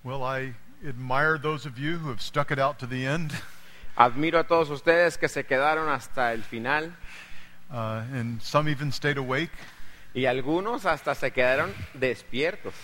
Well, I admire those of you who have stuck it out to the end, Admiro a todos ustedes que se quedaron hasta el final and some even stayed awake. y algunos hasta se quedaron despiertos.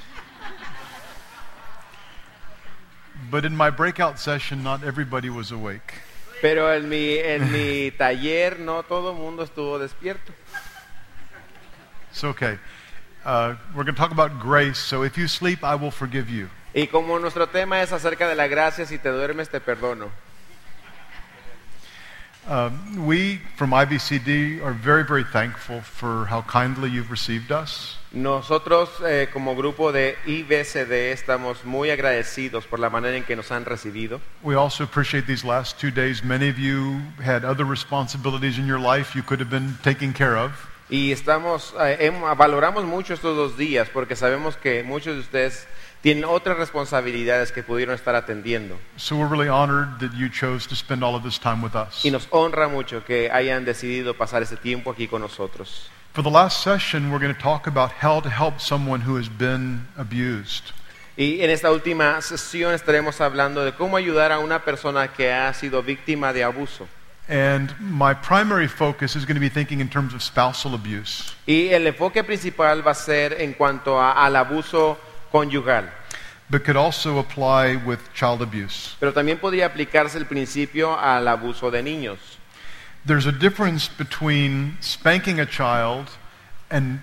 But in my breakout session, not everybody was awake. Pero en mi taller no todo el mundo estuvo despierto. It's okay. We're going to talk about grace, so if you sleep, I will forgive you. Y como nuestro tema es acerca de la gracia, si te duermes te perdono. We from IBCD are very, very thankful for how kindly you've received us. Nosotros como grupo de IBCD estamos muy agradecidos por la manera en que nos han recibido. We also appreciate these last 2 days. Many of you had other responsibilities in your life you could have been taking care of. Y valoramos mucho estos 2 días porque sabemos que muchos de ustedes tienen otras responsabilidades que pudieron estar atendiendo. So we're really honored that you chose to spend all of this time with us. Y nos honra mucho que hayan decidido pasar ese tiempo aquí con nosotros. For the last session, we're going to talk about how to help someone who has been abused. Y en esta última sesión estaremos hablando de cómo ayudar a una persona que ha sido víctima de abuso. And my primary focus is going to be thinking in terms of spousal abuse. Y el enfoque principal va a ser en cuanto al abuso conyugal. But could also apply with child abuse. Pero también podría aplicarse el principio al abuso de niños. There's a difference between spanking a child and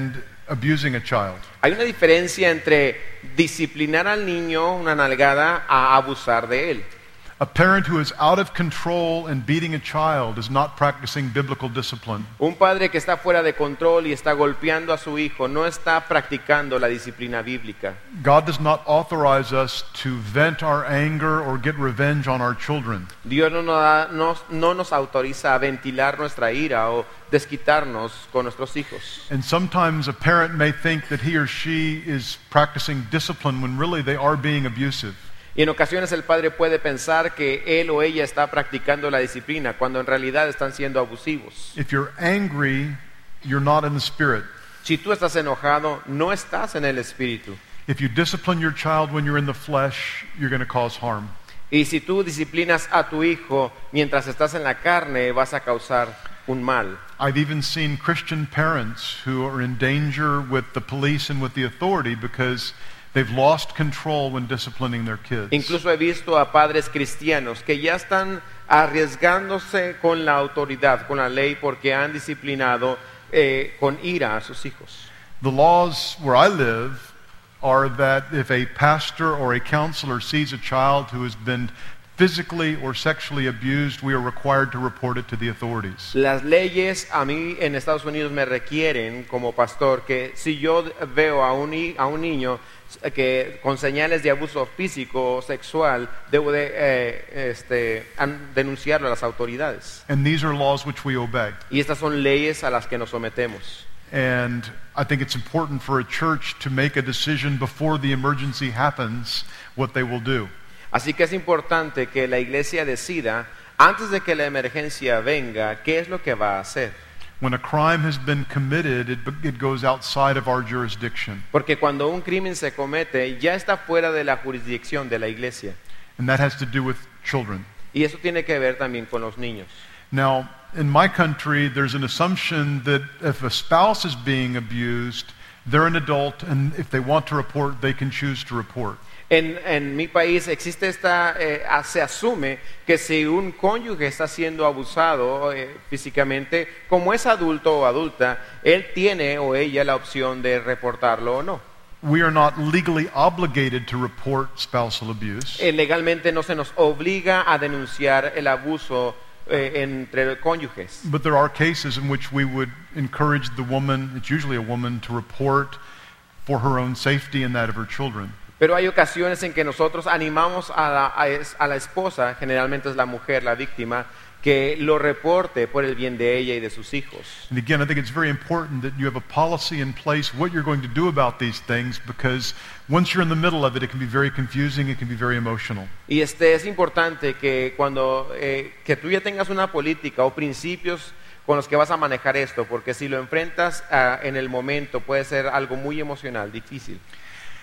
abusing a child. Hay una diferencia entre disciplinar al niño, una nalgada, a abusar de él. A parent who is out of control and beating a child is not practicing biblical discipline. Un padre que está fuera de control y está golpeando a su hijo no está practicando la disciplina bíblica. God does not authorize us to vent our anger or get revenge on our children. Dios no nos autoriza a ventilar nuestra ira o desquitarnos con nuestros hijos. And sometimes a parent may think that he or she is practicing discipline when really they are being abusive. Y en ocasiones el padre puede pensar que él o ella está practicando la disciplina cuando en realidad están siendo abusivos. If you're angry, you're not in the spirit. Si tú estás enojado, no estás en el espíritu. If you discipline your child when you're in the flesh, you're going to cause harm. Y si tú disciplinas a tu hijo mientras estás en la carne, vas a causar un mal. I've even seen Christian parents who are in danger with the police and with the authority because they've lost control when disciplining their kids. Incluso he visto a padres cristianos que ya están arriesgándose con la autoridad, con la ley, porque han disciplinado con ira a sus hijos. The laws where I live are that if a pastor or a counselor sees a child who has been physically or sexually abused, we are required to report it to the authorities. Las leyes a mí en Estados Unidos me requieren como pastor que si yo veo a un niño que con señales de abuso físico o sexual, debo de denunciarlo a las autoridades. And these are laws which we obey. Y estas son leyes a las que nos sometemos. And I think it's important for a church to make a decision before the emergency happens what they will do. Así que es importante que la iglesia decida, antes de que la emergencia venga, qué es lo que va a hacer. When a crime has been committed, it goes outside of our jurisdiction. Porque cuando un crimen se comete, ya está fuera de la jurisdicción de la iglesia. And that has to do with children. Y eso tiene que ver también con los niños. Now, in my country, there's an assumption that if a spouse is being abused, they're an adult, and if they want to report, they can choose to report. En mi país existe se asume que si un cónyuge está siendo abusado físicamente, como es adulto o adulta, él tiene o ella la opción de reportarlo o no. We are not legally obligated to report spousal abuse. Legalmente no se nos obliga a denunciar el abuso entre cónyuges. But there are cases in which we would encourage the woman, it's usually a woman, to report for her own safety and that of her children. Pero hay ocasiones en que nosotros animamos a la esposa, generalmente es la mujer, la víctima, que lo reporte por el bien de ella y de sus hijos. And again, I think it's very important that you have a policy in place what you're going to do about these things, because once you're in the middle of it, it can be very confusing, it can be very emotional. Y es importante que cuando que tú ya tengas una política o principios con los que vas a manejar esto, porque si lo enfrentas en el momento puede ser algo muy emocional, difícil.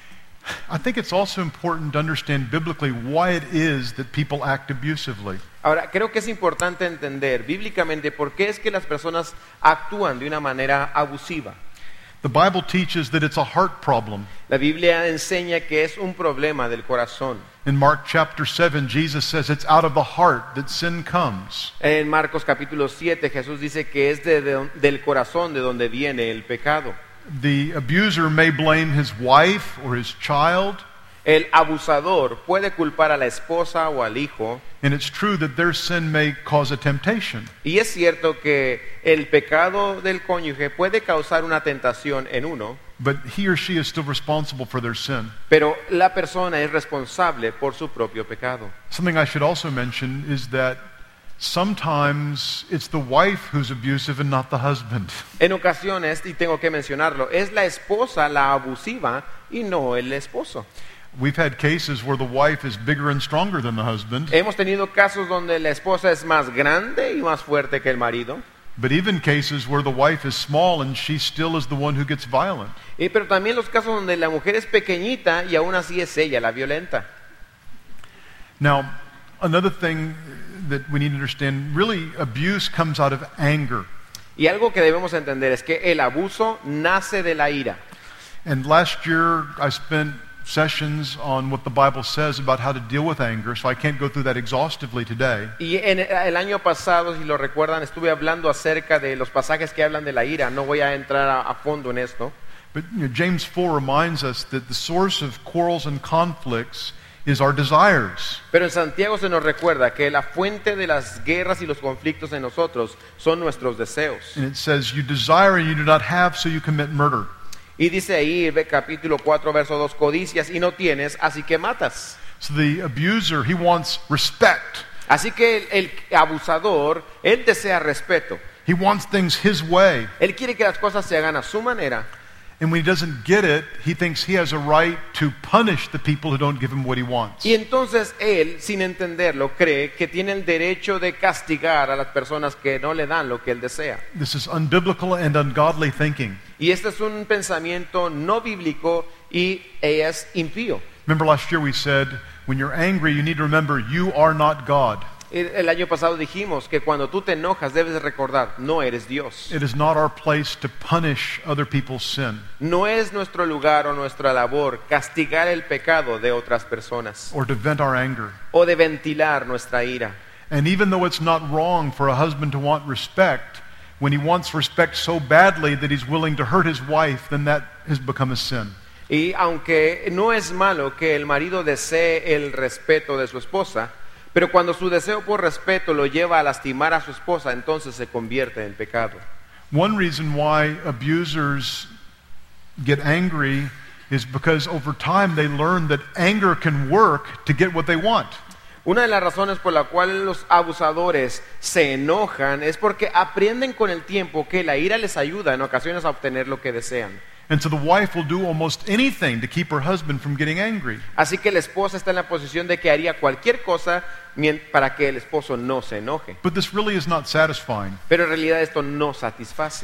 I think it's also important to understand biblically why it is that people act abusively. Ahora, creo que es importante entender bíblicamente por qué es que las personas actúan de una manera abusiva. The Bible teaches that it's a heart problem. La Biblia enseña que es un problema del corazón. In Mark chapter 7, Jesus says it's out of the heart that sin comes. En Marcos capítulo 7, Jesús dice que es del corazón de donde viene el pecado. The abuser may blame his wife or his child, El abusador puede culpar a la esposa o al hijo, and it's true that their sin may cause a temptation. y es cierto que el pecado del cónyuge puede causar una tentación en uno, But he or she is still responsible for their sin. pero la persona es responsable por su propio pecado. Something I should also mention is that sometimes it's the wife who's abusive and not the husband. En ocasiones, y tengo que mencionarlo, es la esposa la abusiva y no el esposo. We've had cases where the wife is bigger and stronger than the husband, Hemos tenido casos donde la esposa es más grande y más fuerte que el marido, but even cases where the wife is small and she still is the one who gets violent. pero también los casos donde la mujer es pequeñita y aún así es ella la violenta. Now, another thing that we need to understand, really abuse comes out of anger. Y algo que debemos entender es que el abuso nace de la ira. And last year I spent sessions on what the Bible says about how to deal with anger, so I can't go through that exhaustively today. Y en el año pasado, si lo recuerdan, estuve hablando acerca de los pasajes que hablan de la ira. No voy a entrar a fondo en esto. But James 4 reminds us that the source of quarrels and conflicts is our desires. Pero en Santiago se nos recuerda que la fuente de las guerras y los conflictos en nosotros son nuestros deseos. And it says, you desire and you do not have, so you commit murder. Y dice ahí, capítulo 4, verso 2, codicias y no tienes, así que matas. So the abuser, he wants respect. Así que el abusador, él desea respeto. He wants things his way. Él quiere que las cosas se hagan a su manera. And when he doesn't get it, he thinks he has a right to punish the people who don't give him what he wants. Y entonces él, sin entenderlo, cree que tiene el derecho de castigar a las personas que no le dan lo que él desea. This is unbiblical and ungodly thinking. Y este es un pensamiento no bíblico y es impío. Remember last year we said, when you're angry, you need to remember you are not God. El año pasado dijimos que cuando tú te enojas debes de recordar, no eres Dios. It is not our place to punish other people's sin No es nuestro lugar o nuestra labor castigar el pecado de otras personas or to vent our anger. o de ventilar nuestra ira. And even though it's not wrong for a husband to want respect, when he wants respect so badly that he's willing to hurt his wife, then that has become a sin. Y aunque no es malo que el marido desee el respeto de su esposa, pero cuando su deseo por respeto lo lleva a lastimar a su esposa, entonces se convierte en pecado. One reason why abusers get angry is because over time they learn that anger can work to get what they want. Una de las razones por la cual los abusadores se enojan es porque aprenden con el tiempo que la ira les ayuda en ocasiones a obtener lo que desean. And so the wife will do almost anything to keep her husband from getting angry. Así que la esposa está en la posición de que haría cualquier cosa para que el esposo no se enoje. But this really is not satisfying. Pero en realidad esto no satisface.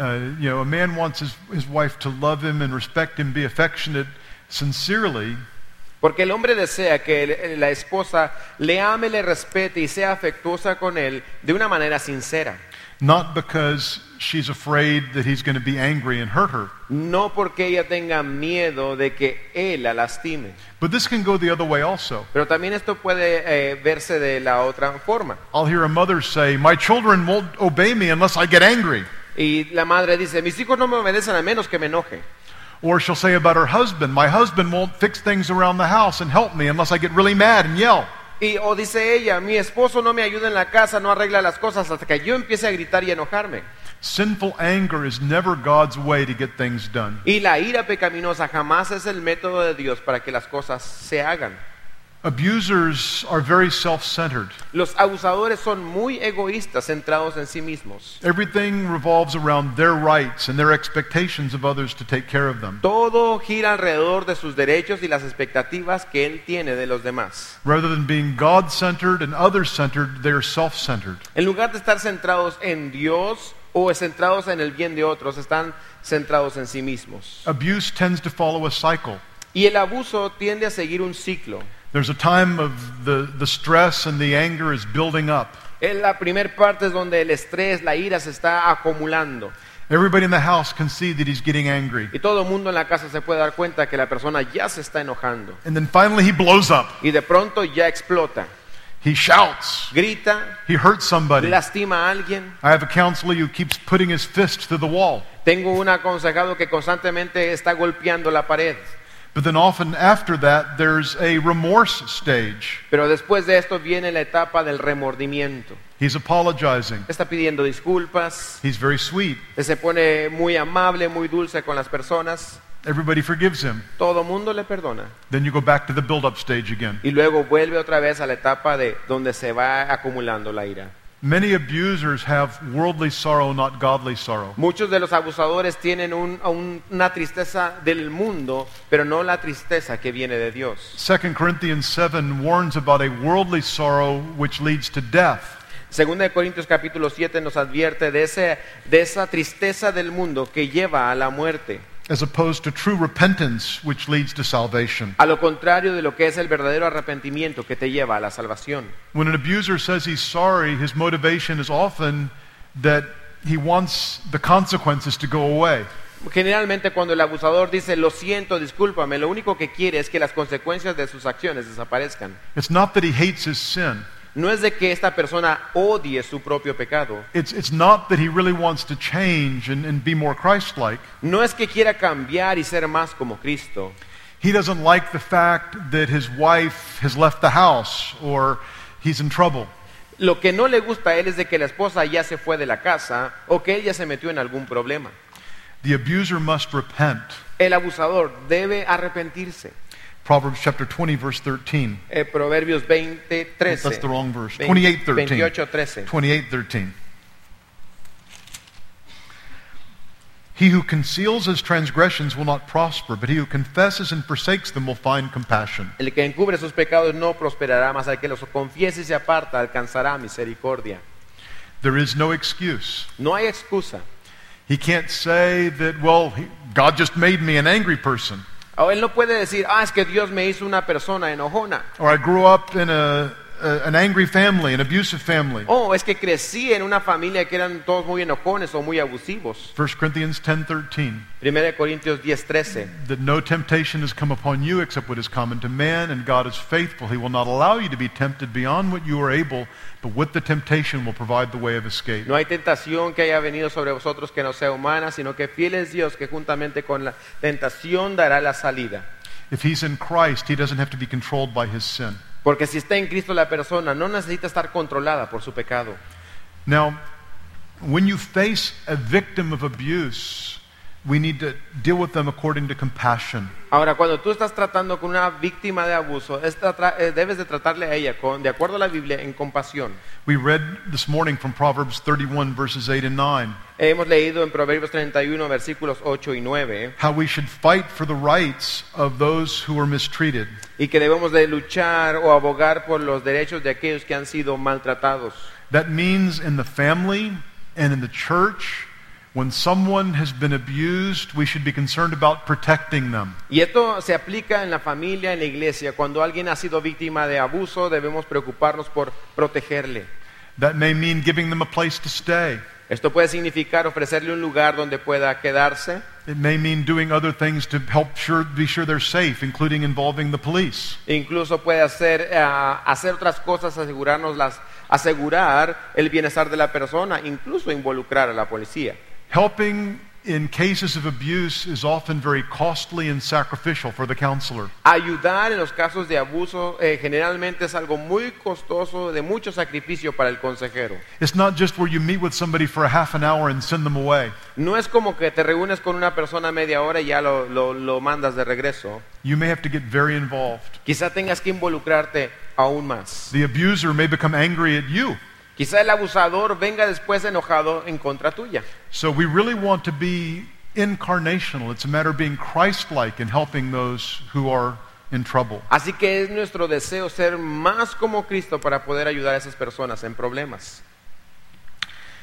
A man wants his wife to love him and respect him, be affectionate sincerely. Porque el hombre desea que la esposa le ame, le respete y sea afectuosa con él de una manera sincera. Not because she's afraid that he's going to be angry and hurt her. No porque ella tenga miedo de que él la lastime. But this can go the other way also. Pero también esto puede verse de la otra forma. I'll hear a mother say, my children won't obey me unless I get angry. Y la madre dice, mis hijos no me obedecen a menos que me enoje. Or she'll say about her husband, my husband won't fix things around the house and help me unless I get really mad and yell. O dice ella, mi esposo no me ayuda en la casa, no arregla las cosas hasta que yo empiece a gritar y enojarme. Sinful anger is never God's way to get things done. Y la ira pecaminosa jamás es el método de Dios para que las cosas se hagan. Abusers are very self-centered. Los abusadores son muy egoístas, centrados en sí mismos. Everything revolves around their rights and their expectations of others to take care of them. Todo gira alrededor de sus derechos y las expectativas que él tiene de los demás. Rather than being God-centered and others-centered, they are self-centered. En lugar de estar centrados en Dios o centrados en el bien de otros, están centrados en sí mismos. Abuse tends to follow a cycle. Y el abuso tiende a seguir un ciclo. There's a time of the stress and the anger is building up. En la primera parte es donde el estrés, la ira se está acumulando. Everybody in the house can see that he's getting angry. Y todo el mundo en la casa se puede dar cuenta que la persona ya se está enojando. And then finally he blows up. Y de pronto ya explota. He shouts. Grita, He hurts somebody. lastima a alguien. I have a counselor who keeps putting his fist to the wall. Tengo un aconsejado que constantemente está golpeando la pared. But then often after that, there's a remorse stage. Pero después de esto viene la etapa del remordimiento. He's apologizing. Está pidiendo disculpas, He's very sweet. se pone muy amable, muy dulce con las personas. Everybody forgives him. Todo mundo le perdona. Then you go back to the build-up stage again. Y luego vuelve otra vez a la etapa de donde se va acumulando la ira. Many abusers have worldly sorrow, not godly sorrow. Muchos de los abusadores tienen una tristeza del mundo, pero no la tristeza que viene de Dios. 2 Corinthians 7 warns about a worldly sorrow which leads to death. Segunda de Corintios capítulo 7 nos advierte de esa tristeza del mundo que lleva a la muerte, as opposed to true repentance, which leads to salvation. a lo contrario de lo que es el verdadero arrepentimiento que te lleva a la salvación. When an abuser says he's sorry, his motivation is often that he wants the consequences to go away. Generalmente cuando el abusador dice lo siento, discúlpame, lo único que quiere es que las consecuencias de sus acciones desaparezcan. It's not that he hates his sin. No es de que esta persona odie su propio pecado. It's not that he really wants to change and be more Christ-like. No es que quiera cambiar y ser más como Cristo. He doesn't like the fact that his wife has left the house or he's in trouble. Lo que no le gusta a él es de que la esposa ya se fue de la casa o que él ya se metió en algún problema. The abuser must repent. El abusador debe arrepentirse. Proverbs chapter 20, verse 13. Proverbios 20, 13. That's the wrong verse. 20, 28, 13. 28, 13. 28, 13. He who conceals his transgressions will not prosper, but he who confesses and forsakes them will find compassion. El que encubre sus pecados no prosperará, mas al que los confiese y se aparta alcanzará misericordia. There is no excuse. No hay excusa. He can't say that, well, God just made me an angry person. O él no puede decir, es que Dios me hizo una persona enojona. Or I grew up in an angry family, an abusive family. Es que crecí en una familia que eran todos muy enojones o muy abusivos. 1 Corinthians 10:13. 1 Corintios 10:13. That no temptation has come upon you except what is common to man, and God is faithful. He will not allow you to be tempted beyond what you are able, but with the temptation will provide the way of escape. No hay tentación que haya venido sobre vosotros que no sea humana, sino que fiel es Dios que juntamente con la tentación dará la salida. If he's in Christ, he doesn't have to be controlled by his sin. Porque si está en Cristo la persona no necesita estar controlada por su pecado. Now, when you face a victim of abuse, we need to deal with them according to compassion. Ahora, cuando tú estás tratando con una víctima de abuso, debes de tratarle a ella de acuerdo a la Biblia en compasión. We read this morning from Proverbs 31 verses 8 and 9 Hemos leído en Proverbios 31 versículos 8 y 9 how we should fight for the rights of those who are mistreated. y que debemos de luchar o abogar por los derechos de aquellos que han sido maltratados. That means in the family and in the church, when someone has been abused, we should be concerned about protecting them. Y esto se aplica en la familia, en la iglesia. Cuando alguien ha sido víctima de abuso, debemos preocuparnos por protegerle. That may mean giving them a place to stay. Esto puede significar ofrecerle un lugar donde pueda quedarse. It may mean doing other things to help be sure they're safe, including involving the police. Incluso puede hacer otras cosas, asegurar el bienestar de la persona, incluso involucrar a la policía. Helping in cases of abuse is often very costly and sacrificial for the counselor. Ayudar en los casos de abuso generalmente es algo muy costoso, de mucho sacrificio para el consejero. It's not just where you meet with somebody for a half an hour and send them away. No es como que te reúnes con una persona media hora y ya lo mandas de regreso. You may have to get very involved. Quizá tengas que involucrarte aún más. The abuser may become angry at you. Quizá el abusador venga después enojado en contra tuya. So we really want to be incarnational. It's a matter of being Christ-like in helping those who are in trouble. Así que es nuestro deseo ser más como Cristo para poder ayudar a esas personas en problemas.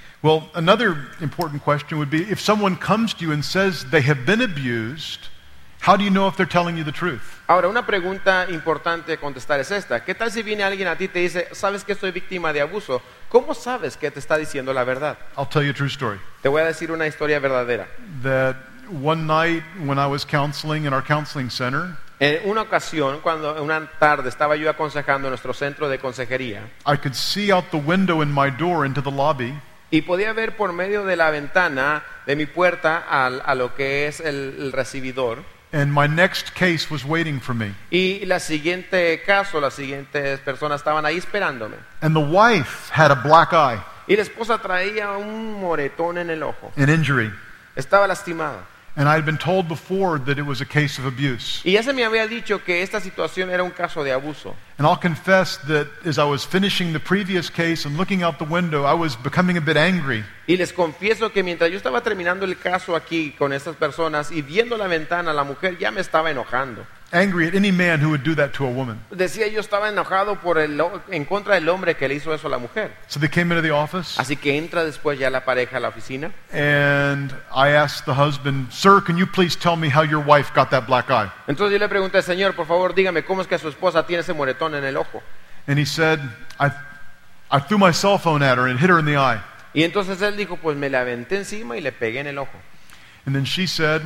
Well, another important question would be if someone comes to you and says they have been abused How do you know if they're telling you the truth? Ahora, una pregunta importante de contestar es esta. ¿Qué tal si viene alguien a ti y te dice, sabes que soy víctima de abuso? ¿Cómo sabes que te está diciendo la verdad? I'll tell you a true story. Te voy a decir una historia verdadera. That one night when I was counseling in our counseling center, En una ocasión, cuando una tarde estaba yo aconsejando en nuestro centro de consejería, I could see out the window in my door into the lobby y podía ver por medio de la ventana de mi puerta a lo que es el recibidor. and my next case was waiting for me. Y la siguiente caso, las siguientes personas estaban ahí esperándome. And the wife had a black eye, Y la esposa traía un moretón en el ojo. an injury. Estaba lastimada. And I had been told before that it was a case of abuse. Y ya se me había dicho que esta situación era un caso de abuso. And I'll confess that as I was finishing the previous case and looking out the window, I was becoming a bit angry. Y les confieso que mientras yo estaba terminando el caso aquí con estas personas y viendo la ventana, la mujer ya me estaba enojando. Angry at any man who would do that to a woman. Decía yo estaba enojado en contra del hombre que le hizo eso a la mujer. So they came into the office, Así que entra después ya la pareja a la oficina. and I asked the husband, "Sir, can you please tell me how your wife got that black eye?" Entonces yo le pregunté, Señor, por favor, dígame cómo es que su esposa tiene ese moretón en el ojo. And he said, I threw my cell phone at her and hit her in the eye. Y entonces él dijo, pues me la aventé encima y le pegué en el ojo. And then she said,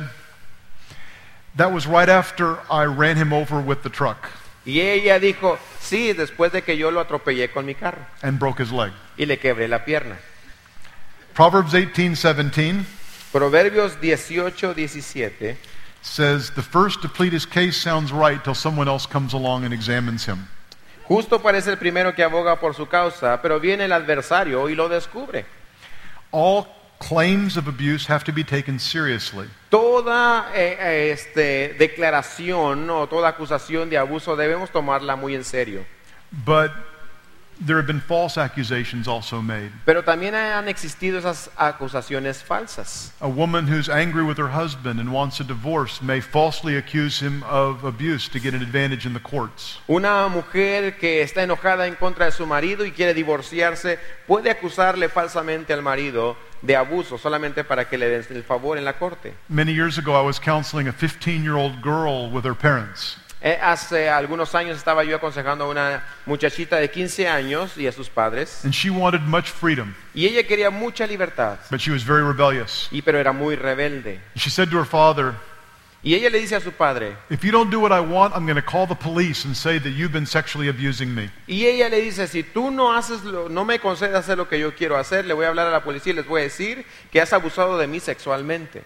that was right after I ran him over with the truck Y ella dijo, sí, después de que yo lo atropellé con mi carro and broke his leg. y le quebré la pierna. Proverbs 18:17 Proverbios 18:17 says, the first to plead his case sounds right till someone else comes along and examines him. Justo parece el primero que aboga por su causa, pero viene el adversario y lo descubre. All claims of abuse have to be taken seriously. Toda declaración o toda acusación de abuso debemos tomarla muy en serio. But there have been false accusations also made. Pero también han existido esas acusaciones falsas. A woman who's angry with her husband and wants a divorce may falsely accuse him of abuse to get an advantage in the courts. Una mujer que está enojada en contra de su marido y quiere divorciarse puede acusarle falsamente al marido de abuso solamente para que le den el favor en la corte. Many years ago, I was counseling a 15-year-old girl with her parents. Hace algunos años estaba yo aconsejando a una muchachita de 15 años y a sus padres. And she wanted much freedom, Y ella quería mucha libertad, but she was very rebellious. pero era muy rebelde. She said to her father, Y ella le dice a su padre, if you don't do what I want, I'm going to call the police and say that you've been sexually abusing me. y ella le dice, si tú no me concedes hacer lo que yo quiero hacer, le voy a hablar a la policía y les voy a decir que has abusado de mí sexualmente.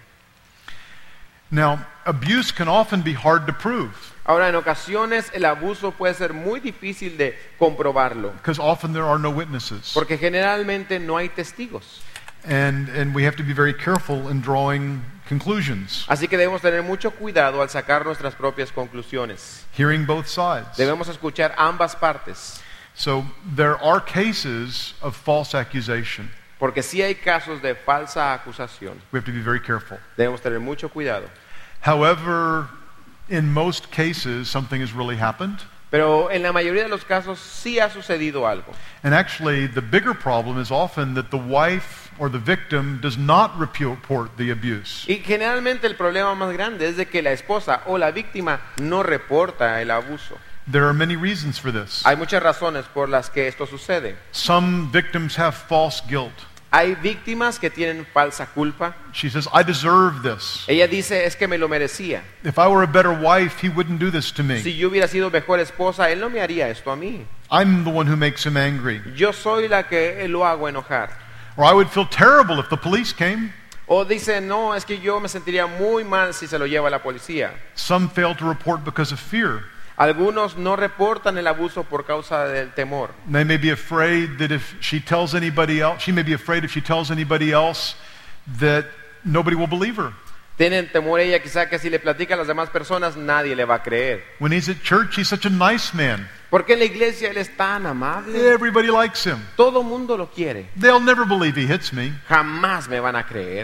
Now, abuse can often be hard to prove Ahora, en ocasiones el abuso puede ser muy difícil de comprobarlo, because often there are no witnesses. porque generalmente no hay testigos. And we have to be very careful in drawing conclusions, Así que debemos tener mucho cuidado al sacar nuestras propias conclusiones. hearing both sides. Debemos escuchar ambas partes, So there are cases of false accusation. porque sí hay casos de falsa acusación. We have to be very careful. Debemos tener mucho cuidado. However, in most cases, something has really happened. Pero en la mayoría de los casos sí ha sucedido algo. And actually, the bigger problem is often that the wife or the victim does not report the abuse. Y generalmente el problema más grande es de que la esposa o la víctima no reporta el abuso. There are many reasons for this. Hay muchas razones por las que esto sucede. Some victims have false guilt. Hay víctimas que tienen falsa culpa. She says, I deserve this. Ella dice, es que me lo merecía. If I were a better wife, he wouldn't do this to me. Si yo hubiera sido mejor esposa, él no me haría esto a mí. I'm the one who makes him angry. Yo soy la que lo hago enojar. Or I would feel terrible if the police came. O dice, no, es que yo me sentiría muy mal si se lo lleva la policía. Some fail to report because of fear. Algunos no reportan el abuso por causa del temor. They may be afraid that if she tells anybody else, she may be afraid if she tells anybody else that nobody will believe her. Tienen temor ella quizá que si le platica a las demás personas nadie le va a creer. When he's at church, he's such a nice man. Porque en la iglesia él es tan amable. Everybody likes him. Todo mundo lo quiere. They'll never believe he hits me. Jamás me van a creer.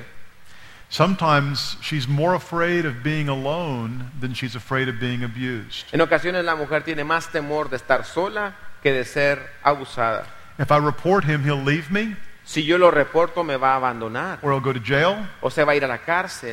Sometimes she's more afraid of being alone than she's afraid of being abused. En ocasiones la mujer tiene más temor de estar sola que de ser abusada. If I report him, he'll leave me, Si yo lo reporto me va a abandonar or he'll go to jail, o se va a ir a la cárcel.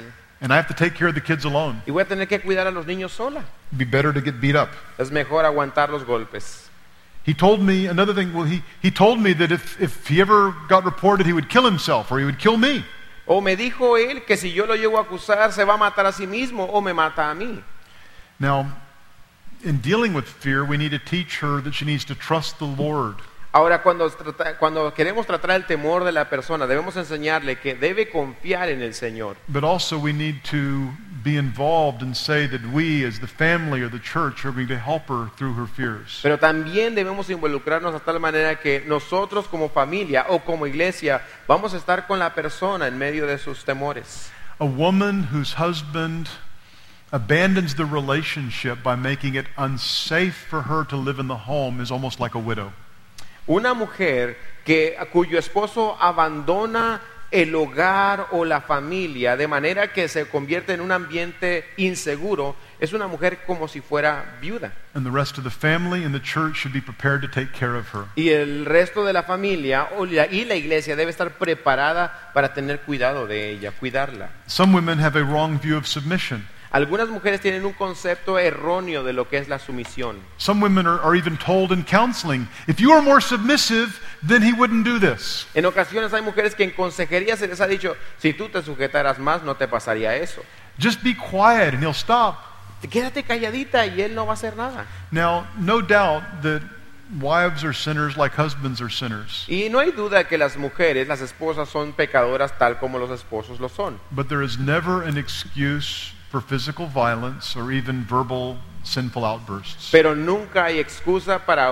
And I have to take care of the kids alone. y voy a tener que cuidar a los niños sola. It'd be better to get beat up. Es mejor aguantar los golpes. He told me another thing. Well, he told me that if he ever got reported, he would kill himself or he would kill me. O me dijo él que si yo lo llego a acusar se va a matar a sí mismo o me mata a mí. Now, in dealing with fear, we need to teach her that she needs to trust the Lord. Ahora, cuando queremos tratar el temor de la persona, debemos enseñarle que debe confiar en el Señor. But also we need to be involved and say that we as the family or the church are going to help her through her fears. Pero también debemos involucrarnos a tal manera que nosotros como familia o como iglesia vamos a estar con la persona en medio de sus temores. A woman whose husband abandons the relationship by making it unsafe for her to live in the home is almost like a widow. Una mujer cuyo esposo abandona el hogar o la familia de manera que se convierte en un ambiente inseguro es una mujer como si fuera viuda. And the rest of the family and the church should be prepared to take care of her. Y el resto de la familia y la iglesia debe estar preparada para tener cuidado de ella, cuidarla. Some women have a wrong view of submission. Algunas mujeres tienen un concepto erróneo de lo que es la sumisión. Some women are even told in counseling, if you are more submissive, then he wouldn't do this. En ocasiones hay mujeres que en consejería se les ha dicho, si tú te sujetaras más no te pasaría eso. Just be quiet and he'll stop. Quédate calladita y él no va a hacer nada. Now, no doubt that wives are sinners like husbands are sinners. Y no hay duda que las mujeres, las esposas son pecadoras tal como los esposos lo son. But there is never an excuse for physical violence or even verbal sinful outbursts. Pero nunca hay excusa para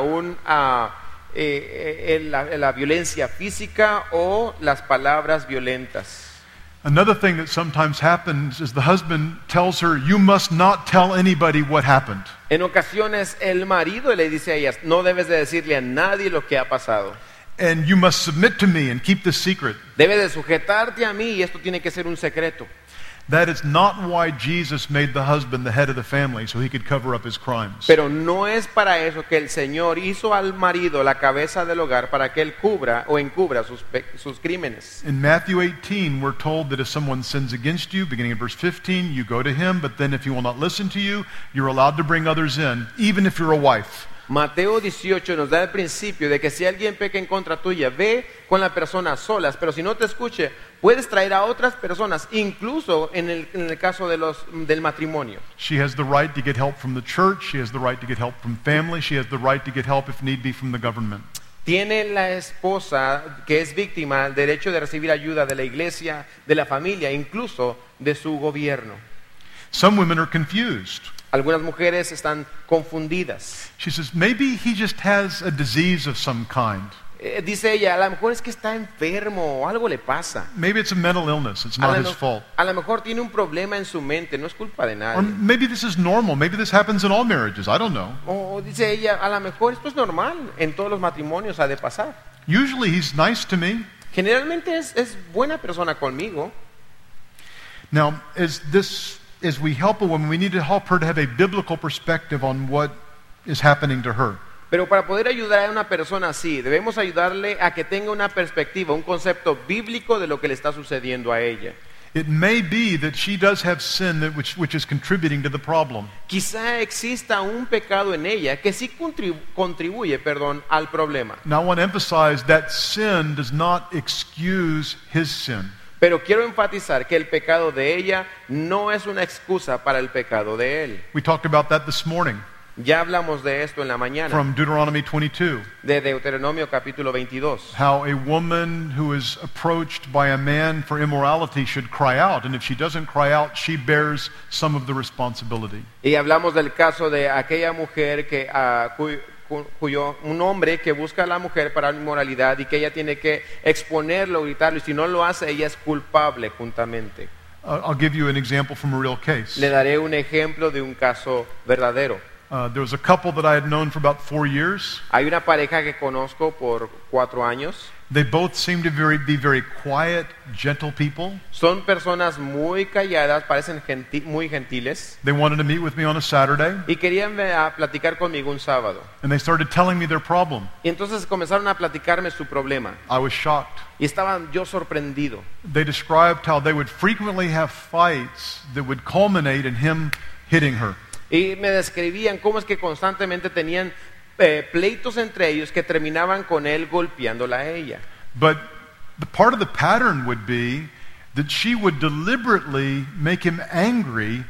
la violencia física o las palabras violentas. Another thing that sometimes happens is the husband tells her, you must not tell anybody what happened. En ocasiones el marido le dice a ellas, no debes de decirle a nadie lo que ha pasado. And you must submit to me and keep this secret. Debes de sujetarte a mí y esto tiene que ser un secreto. That is not why Jesus made the husband the head of the family, so he could cover up his crimes. Pero no es para eso que el Señor hizo al marido la cabeza del hogar para que él cubra o encubra sus crímenes. In Matthew 18, we're told that if someone sins against you, beginning in verse 15, you go to him, but then if he will not listen to you, you're allowed to bring others in, even if you're a wife. Mateo 18 nos da el principio de que si alguien peca en contra tuya, ve con la persona a solas, pero si no te escuche, puedes traer a otras personas, incluso en el caso del matrimonio. She has the right to get help from the church, she has the right to get help from family, she has the right to get help if need be from the government. Tiene la esposa que es víctima el derecho de recibir ayuda de la iglesia, de la familia, incluso de su gobierno. Some women are confused. Algunas mujeres están confundidas. She says, maybe he just has a disease of some kind. Dice ella, a lo mejor es que está enfermo o algo le pasa. Maybe it's a mental illness, it's not his fault. A lo mejor tiene un problema en su mente, no es culpa de Or nadie. maybe this is normal, maybe this happens in all marriages, I don't know. O dice ella, a lo mejor esto es normal, en todos los matrimonios ha de pasar. Usually he's nice to me. Generalmente es buena persona conmigo. Now, as we help a woman, we need to help her to have a biblical perspective on what is happening to her. Pero para poder ayudar a una persona así, debemos ayudarle a que tenga una perspectiva, un concepto bíblico de lo que le está sucediendo a ella. It may be that she does have sin which is contributing to the problem. Quizá exista un pecado en ella que sí contribuye, al problema. Now I want to emphasize that sin does not excuse his sin. Pero quiero enfatizar que el pecado de ella no es una excusa para el pecado de él. We talked about that this morning Ya hablamos de esto en la mañana, from Deuteronomy 22. de Deuteronomio capítulo 22. How a woman who is approached by a man for immorality should cry out, and if she doesn't cry out, she bears some of the responsibility. Y hablamos del caso de aquella mujer un hombre que busca a la mujer para la inmoralidad y que ella tiene que exponerlo, gritarlo, y si no lo hace, ella es culpable juntamente. I'll give you an example from a real case. Le daré un ejemplo de un caso verdadero. There was a couple that I had known for about 4 years, Hay una pareja que conozco por 4 años They both seem to be very quiet, gentle people. Son personas muy calladas, parecen muy gentiles. They wanted to meet with me on a Saturday, Y querían a platicar conmigo un sábado. and they started telling me their problem. Y entonces comenzaron a platicarme su problema. I was shocked. Y estaba yo sorprendido. They described how they would frequently have fights that would culminate in him hitting her. Y me describían cómo es que constantemente tenían pleitos entre ellos que terminaban con él golpeándola a ella. But the part of the pattern would be that she would deliberately make him angry,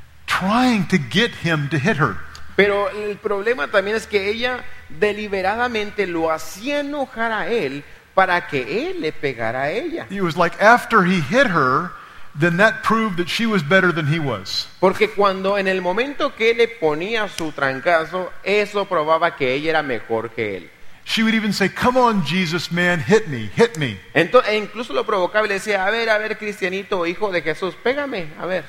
trying to get him to hit her. Pero el problema también es que ella deliberadamente lo hacía enojar a él para que él le pegara a ella. It was like after he hit her, then that proved that she was better than he was. Porque cuando en el momento que él le ponía su trancazo, eso probaba que ella era mejor que él. She would even say, "Come on, Jesus, man, hit me, hit me." Entonces, incluso lo provocaba y le decía, a ver, cristianito, hijo de Jesús, pégame, a ver.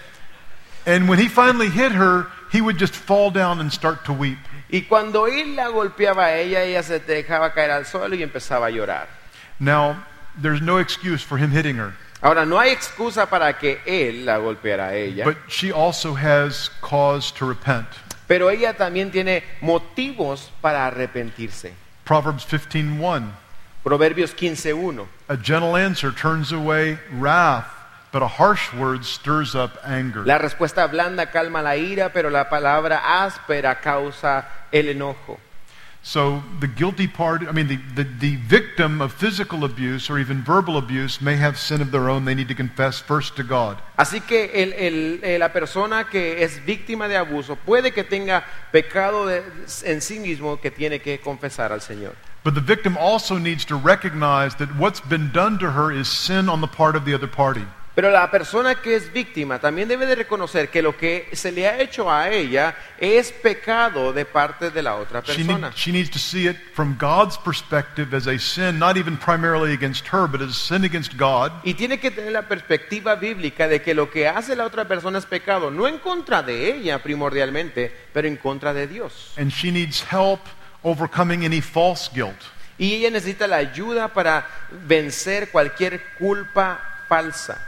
And when he finally hit her, he would just fall down and start to weep. Y cuando él la golpeaba a ella se dejaba caer al suelo y empezaba a llorar. Now, there's no excuse for him hitting her, Ahora, no hay excusa para que él la golpeara a ella, but she also has cause to repent. pero ella también tiene motivos para arrepentirse. Proverbs 15:1. Proverbios 15:1. A gentle answer turns away wrath, but a harsh word stirs up anger. La respuesta blanda calma la ira, pero la palabra áspera causa el enojo. So the guilty party, the victim of physical abuse or even verbal abuse may have sin of their own they need to confess first to God. Así que la persona que es víctima de abuso puede que tenga pecado en sí mismo que tiene que confesar al Señor. But the victim also needs to recognize that what's been done to her is sin on the part of the other party. Pero la persona que es víctima también debe de reconocer que lo que se le ha hecho a ella es pecado de parte de la otra persona. She needs to see it from God's perspective as a sin, not even primarily against her, but as a sin against God. Y tiene que tener la perspectiva bíblica de que lo que hace la otra persona es pecado, no en contra de ella primordialmente, pero en contra de Dios. And she needs help overcoming any false guilt. Y ella necesita la ayuda para vencer cualquier culpa falsa.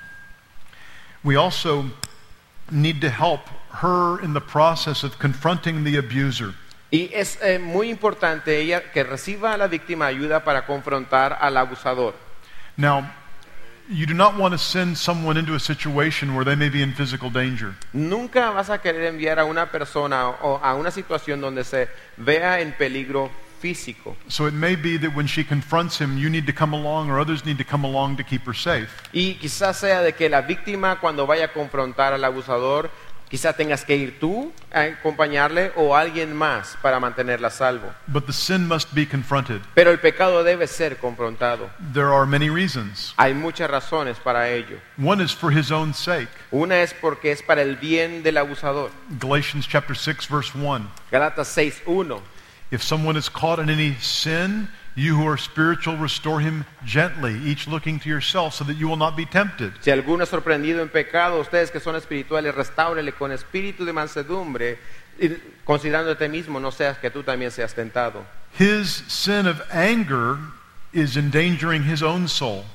We also need to help her in the process of confronting the abuser. Y es muy importante ella que reciba a la víctima ayuda para confrontar al abusador. Now, you do not want to send someone into a situation where they may be in physical danger. Nunca vas a querer enviar a una persona o a una situación donde se vea en peligro físico. So it may be that when she confronts him, you need to come along or others need to come along to keep her safe. Y quizás sea de que la víctima cuando vaya a confrontar al abusador, quizás tengas que ir tú a acompañarle o alguien más para mantenerla a salvo. But the sin must be confronted. Pero el pecado debe ser confrontado. There are many reasons. Hay muchas razones para ello. One is for his own sake. Una es porque es para el bien del abusador. Galatians chapter 6 verse 1. Gálatas 6:1. If someone is caught in any sin, you who are spiritual restore him gently, each looking to yourself so that you will not be tempted. Si alguno es sorprendido en pecado, ustedes que son espirituales, restáurele con espíritu de mansedumbre, considerando a ti mismo, no seas que tú también seas tentado. His sin of anger is endangering his own soul.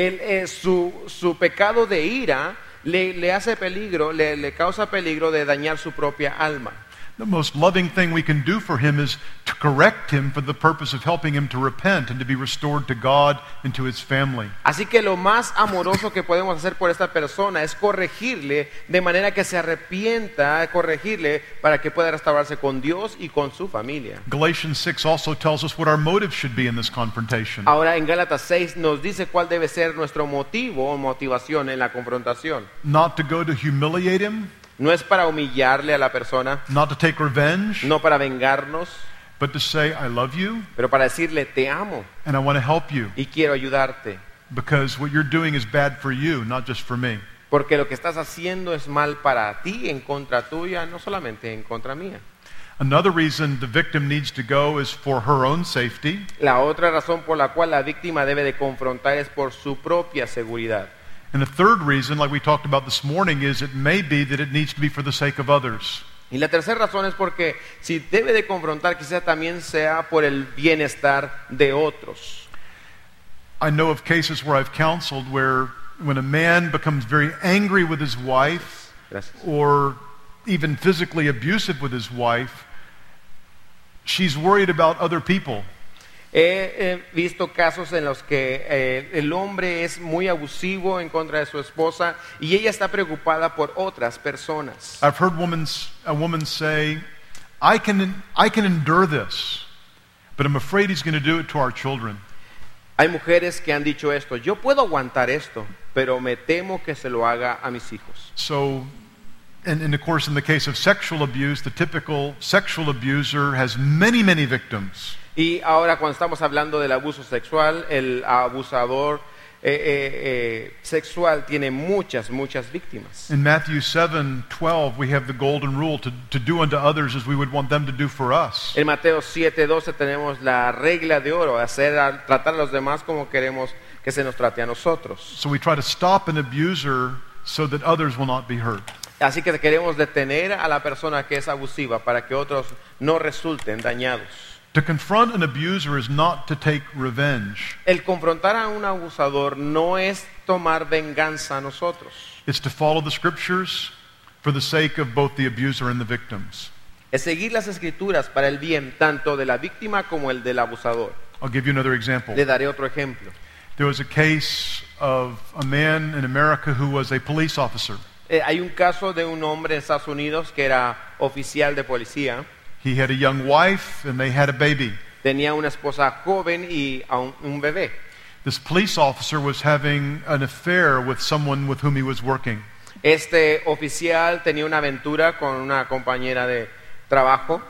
Su pecado de ira le hace peligro, le causa peligro de dañar su propia alma. The most loving thing we can do for him is to correct him for the purpose of helping him to repent and to be restored to God and to his family. Así que lo más amoroso que podemos hacer por esta persona es corregirle de manera que se arrepienta, corregirle para que pueda restaurarse con Dios y con su familia. Galatians 6 also tells us what our motive should be in this confrontation. Ahora en Gálatas 6 nos dice cuál debe ser nuestro motivo o motivación en la confrontación. Not to go to humiliate him, No es para humillarle a la persona, not to take revenge, no para vengarnos, but to say, I love you pero para decirle te amo and I want to help you y quiero ayudarte. because what you're doing is bad for you, not just for me. Porque lo que estás haciendo es mal para ti, en contra tuya, no solamente en contra mía. Another reason the victim needs to go is for her own safety. La otra razón por la cual la víctima debe de confrontar es por su propia seguridad. And the third reason, like we talked about this morning, is it may be that it needs to be for the sake of others. Y la tercera razón es porque si debe de confrontar, quizá también sea por el bienestar de otros. I know of cases where I've counseled where when a man becomes very angry with his wife Gracias. or even physically abusive with his wife, she's worried about other people. He visto casos en los que el hombre es muy abusivo en contra de su esposa y ella está preocupada por otras personas. I've heard a woman say, I can endure this, but I'm afraid he's going to do it to our children. Hay mujeres que han dicho esto: yo puedo aguantar esto, pero me temo que se lo haga a mis hijos. So, and of course, in the case of sexual abuse, the typical sexual abuser has many, many victims. Y ahora cuando estamos hablando del abuso sexual, el abusador sexual tiene muchas víctimas. In Matthew 7:12, we have the golden rule to do unto others as we would want them to do for us. En Mateo 7:12 tenemos la regla de oro: tratar a los demás como queremos que se nos trate a nosotros. So we try to stop an abuser so that others will not be hurt. Así que queremos detener a la persona que es abusiva para que otros no resulten dañados. To confront an abuser is not to take revenge. El confrontar a un abusador no es tomar venganza a nosotros. It's to follow the scriptures for the sake of both the abuser and the victims. Es seguir las escrituras para el bien tanto de la víctima como el del abusador. I'll give you another example. Le daré otro ejemplo. There was a case of a man in America who was a police officer. Hay un caso de un hombre en Estados Unidos que era oficial de policía. He had a young wife and they had a baby. Tenía una esposa joven y un bebé. This police officer was having an affair with someone with whom he was working. Este oficial tenía una aventura con una compañera de trabajo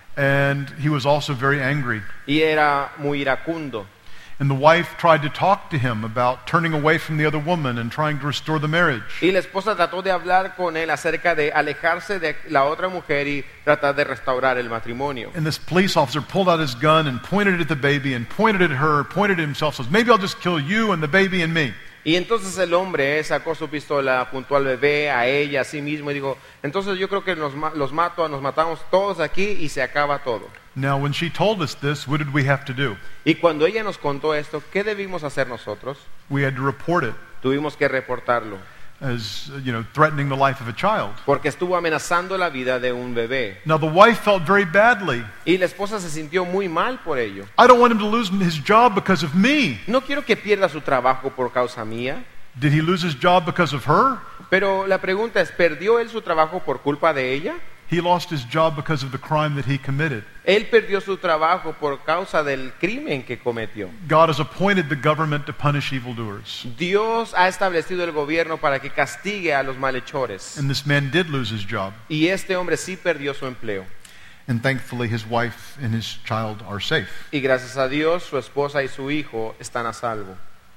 And he was also very angry. y era muy iracundo. And the wife tried to talk to him about turning away from the other woman and trying to restore the marriage. Y la esposa trató de hablar con él acerca de alejarse de la otra mujer y tratar de restaurar el matrimonio. And this police officer pulled out his gun and pointed it at the baby and pointed at her, pointed at himself, says, maybe I'll just kill you and the baby and me. Y entonces el hombre sacó su pistola, apuntó al bebé, a ella, a sí mismo y dijo: entonces yo creo que nos matamos todos aquí y se acaba todo. Now, when she told us this, what did we have to do? Y cuando ella nos contó esto, ¿qué debimos hacer nosotros? We had to report it Tuvimos que reportarlo, as, threatening the life of a child. porque estuvo amenazando la vida de un bebé. Now, the wife felt very badly. Y la esposa se sintió muy mal por ello. I don't want him to lose his job because of me. No quiero que pierda su trabajo por causa mía. Did he lose his job because of her? Pero la pregunta es: ¿perdió él su trabajo por culpa de ella? He lost his job because of the crime that he committed. Él perdió su trabajo por causa del crimen que cometió. God has appointed the government to punish evildoers. Dios ha establecido el gobierno para que castigue a los malhechores. And this man did lose his job. Y este hombre sí perdió su empleo. And thankfully his wife and his child are safe. Y gracias a Dios, su esposa y su hijo están a salvo.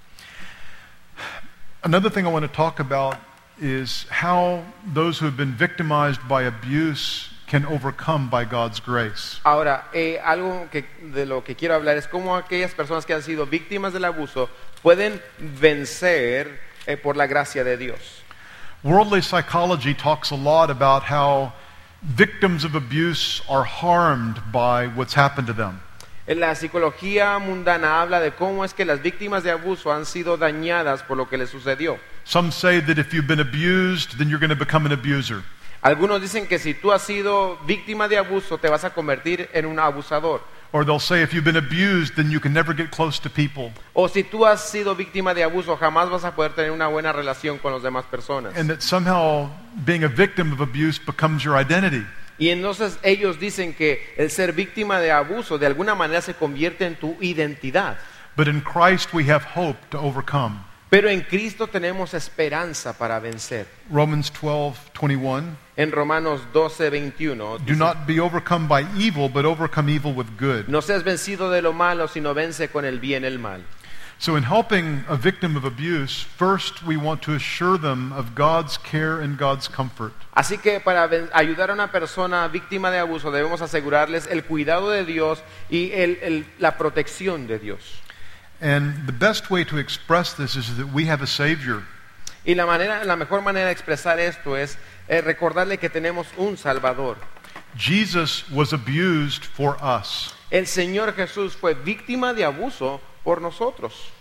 Another thing I want to talk about is how those who have been victimized by abuse can overcome by God's grace. Ahora, algo de lo que quiero hablar es cómo aquellas personas que han sido víctimas del abuso pueden vencer por la gracia de Dios. Worldly psychology talks a lot about how victims of abuse are harmed by what's happened to them. La psicología mundana habla de cómo es que las víctimas de abuso han sido dañadas por lo que les sucedió. Some say that if you've been abused, then you're going to become an abuser. Algunos dicen que si tú has sido víctima de abuso, te vas a convertir en un abusador. Or they'll say if you've been abused, then you can never get close to people. O si tú has sido víctima de abuso, jamás vas a poder tener una buena relación con las demás personas. And that somehow being a victim of abuse becomes your identity. Y entonces ellos dicen que el ser víctima de abuso de alguna manera se convierte en tu identidad. But in Christ we have hope to overcome. Pero en Cristo tenemos esperanza para vencer. Romans 12:21. En Romanos 12:21 Do dice: not be overcome by evil, but overcome evil with good. no seas vencido de lo malo, sino vence con el bien el mal. So in helping a victim of abuse, first we want to assure them of God's care and God's comfort. Así que para ayudar a una persona víctima de abuso debemos asegurarles el cuidado de Dios y la protección de Dios. And the best way to express this is that we have a Savior. Y la mejor manera de expresar esto es recordarle que tenemos un Salvador. Jesus was abused for us. El Señor Jesús fue víctima de abuso por nosotros.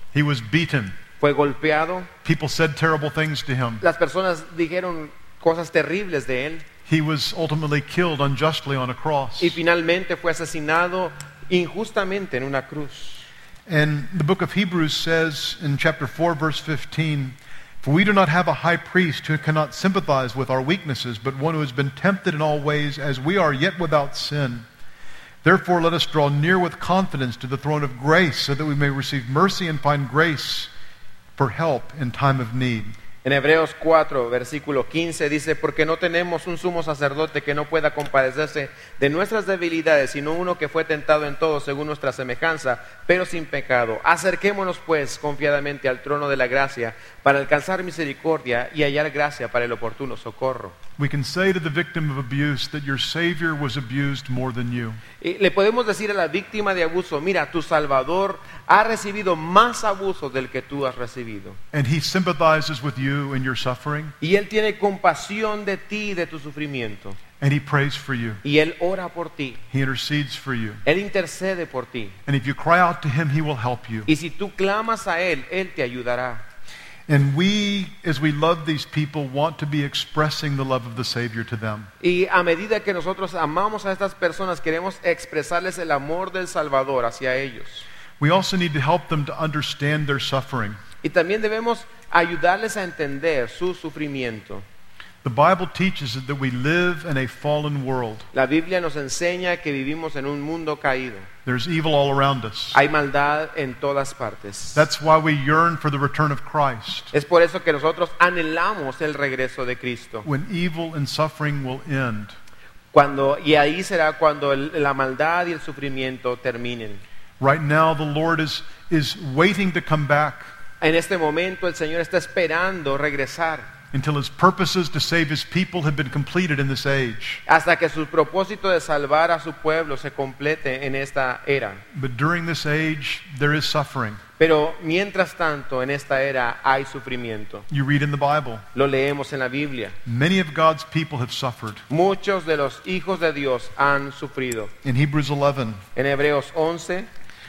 He was beaten. fue golpeado, People said terrible things to him. las personas dijeron cosas terribles de él He was ultimately killed unjustly on a cross. y finalmente fue asesinado injustamente en una cruz. And the book of Hebrews says in chapter 4, verse 15, "For we do not have a high priest who cannot sympathize with our weaknesses, but one who has been tempted in all ways as we are, yet without sin. Therefore let us draw near with confidence to the throne of grace, so that we may receive mercy and find grace for help in time of need." En Hebreos 4, versículo 15 dice, porque no tenemos un sumo sacerdote que no pueda compadecerse de nuestras debilidades, sino uno que fue tentado en todo según nuestra semejanza, pero sin pecado. Acerquémonos pues confiadamente al trono de la gracia para alcanzar misericordia y hallar gracia para el oportuno socorro. We can say to the victim of abuse that your Savior was abused more than you. Y le podemos decir a la víctima de abuso, mira, tu Salvador ha recibido más abuso del que tú has recibido. And He sympathizes with you in your suffering, Y Él tiene compasión de ti y de tu sufrimiento. and He prays for you. Y Él ora por ti. He intercedes for you. Él intercede por ti. And if you cry out to Him, He will help you. Y si tú clamas a Él, Él te ayudará. And we, as we love these people, want to be expressing the love of the Savior to them. Y a medida que nosotros amamos a estas personas, queremos expresarles el amor del Salvador hacia ellos. We also need to help them to understand their suffering. Y también debemos ayudarles a entender su sufrimiento. The Bible teaches that we live in a fallen world. La Biblia nos enseña que vivimos en un mundo caído. There's evil all around us. Hay maldad en todas partes. That's why we yearn for the return of Christ, Es por eso que nosotros anhelamos el regreso de Cristo. when evil and suffering will end. Y ahí será cuando la maldad y el sufrimiento terminen. Right now, the Lord is waiting to come back En este momento el Señor está esperando regresar until His purposes to save His people have been completed in this age. hasta que su propósito de salvar a su pueblo se complete en esta era. But during this age, there is suffering. Pero mientras tanto, en esta era hay sufrimiento. You read in the Bible, Lo leemos en la Biblia. many of God's people have suffered. Muchos de los hijos de Dios han sufrido. In Hebrews 11, En Hebreos 11,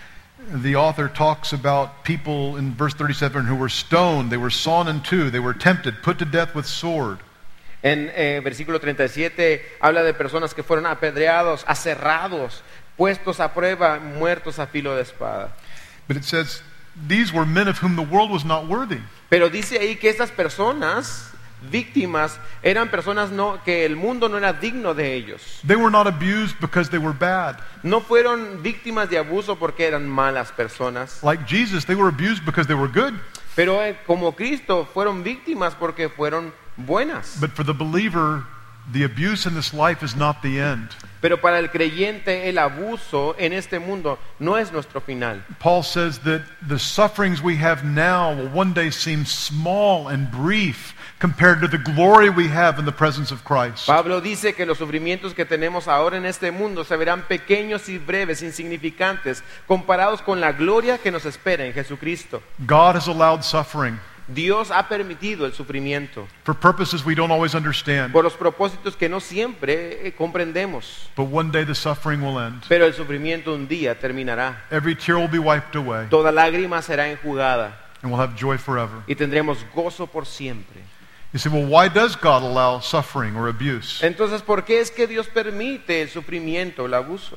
the author talks about people in verse 37 who were stoned, they were sawn in two, they were tempted, put to death with sword. en versículo 37, habla de personas que fueron apedreados, aserrados, puestos a prueba, muertos a filo de espada. But it says, these were men of whom the world was not worthy. Pero dice ahí que estas personas víctimas eran personas que el mundo no era digno de ellos. They were not abused because they were bad. No fueron víctimas de abuso porque eran malas personas, Like Jesus, they were abused because they were good. pero como Cristo fueron víctimas porque fueron buenas. But for the believer, the abuse in this life is not the end. Pero para el creyente el abuso en este mundo no es nuestro final. Paul says that the sufferings we have now will one day seem small and brief compared to the glory we have in the presence of Christ. Pablo dice que los sufrimientos que tenemos ahora en este mundo se verán pequeños y breves, insignificantes, comparados con la gloria que nos espera en Jesucristo. God has allowed suffering Dios ha permitido el sufrimiento for purposes we don't always understand. por los propósitos que no siempre comprendemos. But one day the suffering will end. Pero el sufrimiento un día terminará. Every tear will be wiped away, Toda lágrima será enjugada and we'll have joy forever. y tendremos gozo por siempre. You say, well, why does God allow suffering or abuse? Entonces, ¿por qué es que Dios permite el sufrimiento, el abuso?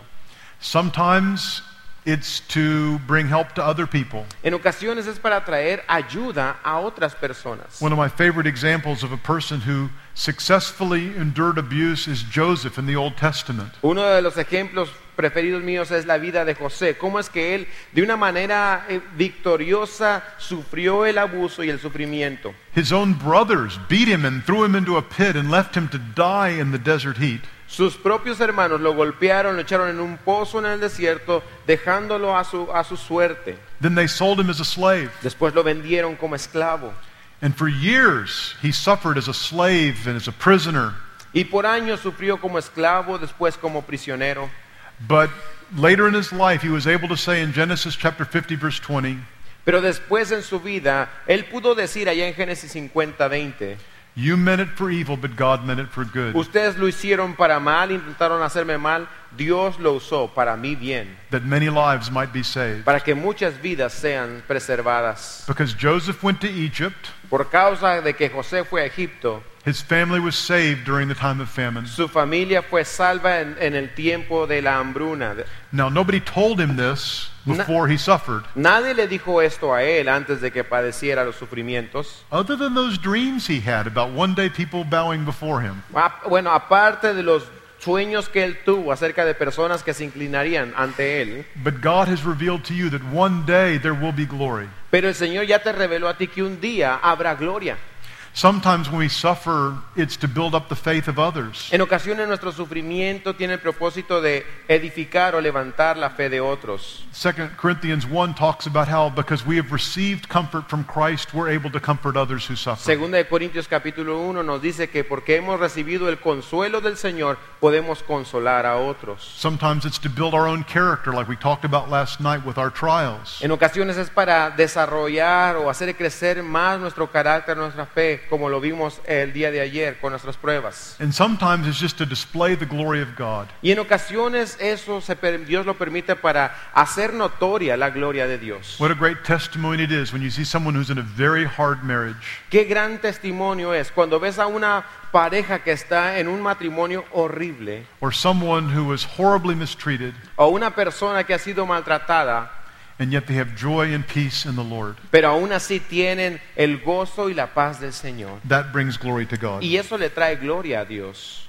Sometimes it's to bring help to other people. En ocasiones es para traer ayuda a otras personas. One of my favorite examples of a person who successfully endured abuse is Joseph in the Old Testament. Uno de los ejemplos preferidos míos es la vida de José. Cómo es que él, de una manera victoriosa, sufrió el abuso y el sufrimiento. His own brothers beat him and threw him into a pit and left him to die in the desert heat. Sus propios hermanos lo golpearon, lo echaron en un pozo en el desierto, dejándolo a su suerte. Then they sold him as a slave. Después lo vendieron como esclavo. And for years he suffered as a slave and as a prisoner. Y por años sufrió como esclavo, después como prisionero. But later in his life he was able to say in Genesis chapter 50 verse 20, Pero después en su vida, él pudo decir allá en Génesis 50:20, You meant it for evil, but God meant it for good. Ustedes lo hicieron para mal, intentaron hacerme mal, Dios lo usó para mi bien, That many lives might be saved. para que muchas vidas sean preservadas. Because Joseph went to Egypt, Por causa de que José fue a Egipto, his family was saved during the time of famine. su familia fue salva en el tiempo de la hambruna. Now, nobody told him this before he suffered, Nadie le dijo esto a él antes de que padeciera los sufrimientos. other than those dreams he had about one day people bowing before him. Bueno, aparte de los sueños que él tuvo acerca de personas que se inclinarían ante él, But God has revealed to you that one day there will be glory. pero el Señor ya te reveló a ti que un día habrá gloria. Sometimes when we suffer, it's to build up the faith of others. En ocasiones nuestro sufrimiento tiene el propósito de edificar o levantar la fe de otros. 2 Corinthians 1 talks about how because we have received comfort from Christ, we're able to comfort others who suffer. Segunda de Corintios capítulo 1 nos dice que porque hemos recibido el consuelo del Señor, podemos consolar a otros. Sometimes it's to build our own character, like we talked about last night with our trials. En ocasiones es para desarrollar o hacer crecer más nuestro carácter, nuestra fe, como lo vimos el día de ayer con nuestras pruebas. And sometimes it's just to display the glory of God. Y en ocasiones eso Dios lo permite para hacer notoria la gloria de Dios. What a great testimony it is when you see someone who's in a very hard marriage. Qué gran testimonio es cuando ves a una pareja que está en un matrimonio horrible Or someone who was horribly mistreated, o una persona que ha sido maltratada, and yet they have joy and peace in the Lord. pero aún así tienen el gozo y la paz del Señor. That brings glory to God. Y eso le trae gloria a Dios.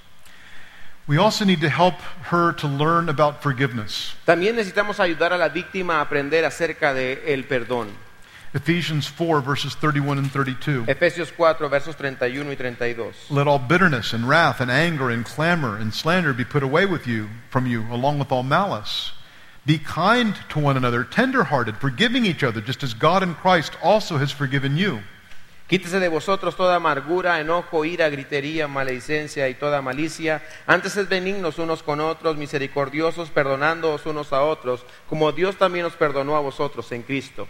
We also need to help her to learn about forgiveness. También necesitamos ayudar a la víctima a aprender acerca del perdón. Ephesians 4 verses 31 and 32. Efesios 4 versos 31 y 32. Let all bitterness and wrath and anger and clamor and slander be put away from you, along with all malice. Be kind to one another, tender-hearted, forgiving each other, just as God in Christ also has forgiven you. Quítese de vosotros toda amargura, enojo, ira, gritería, maledicencia y toda malicia. Antes sed benignos unos con otros, misericordiosos, perdonándoos unos a otros, como Dios también os perdonó a vosotros en Cristo.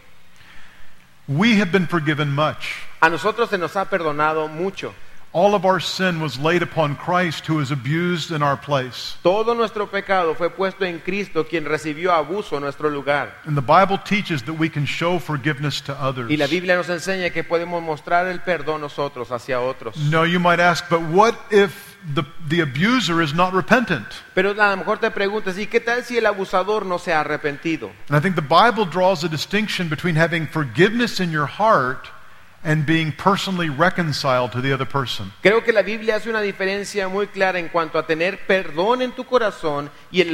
We have been forgiven much. A nosotros se nos ha perdonado mucho. All of our sin was laid upon Christ, who was abused in our place. Todo nuestro pecado fue puesto en Cristo, quien recibió abuso en nuestro lugar. And the Bible teaches that we can show forgiveness to others. Y la Biblia nos enseña que podemos mostrar el perdón nosotros hacia otros. No, you might ask, but what if the abuser is not repentant? Pero a lo mejor te preguntas, ¿y qué tal si el abusador no se ha arrepentido? And I think the Bible draws a distinction between having forgiveness in your heart and being personally reconciled to the other person. Creo que la Biblia hace una diferencia muy clara en cuanto a tener perdón en tu corazón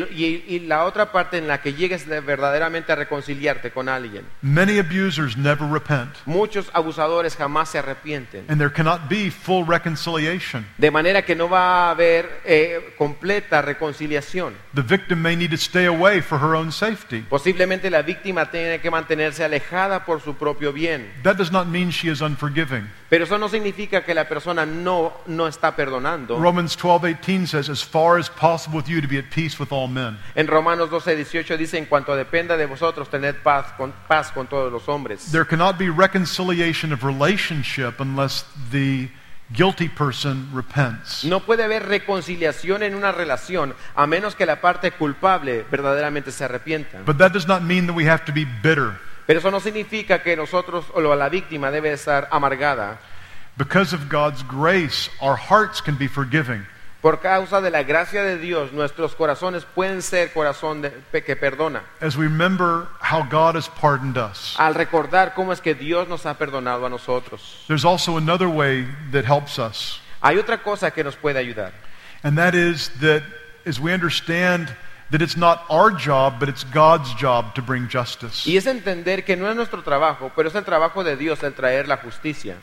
y la otra parte en la que llegues verdaderamente a reconciliarte con alguien. Many abusers never repent, Muchos abusadores jamás se arrepienten. and there cannot be full reconciliation. De manera que no va a haber completa reconciliación. The victim may need to stay away for her own safety. Posiblemente la víctima tiene que mantenerse alejada por su propio bien. That does not mean she is unforgiving. Pero eso no significa que la persona no está perdonando. Romans 12:18 says, as far as possible with you to be at peace with all men. En Romanos 12:18 dice, en cuanto dependa de vosotros, tened paz con todos los hombres. There cannot be reconciliation of relationship unless the guilty person repents. No puede haber reconciliación en una relación a menos que la parte culpable verdaderamente se arrepienta. But that does not mean that we have to be bitter. Pero eso no significa que nosotros o la víctima debe estar amargada. Because of God's grace, our hearts can be forgiving. Por causa de la gracia de Dios, nuestros corazones pueden ser corazón que perdona. As we remember how God has pardoned us. Al recordar cómo es que Dios nos ha perdonado a nosotros. There's also another way that helps us. Hay otra cosa que nos puede ayudar. And that is that as we understand that it's not our job, but it's God's job to bring justice. Y es entender que no es nuestro trabajo, pero es el trabajo de Dios el traer la justicia.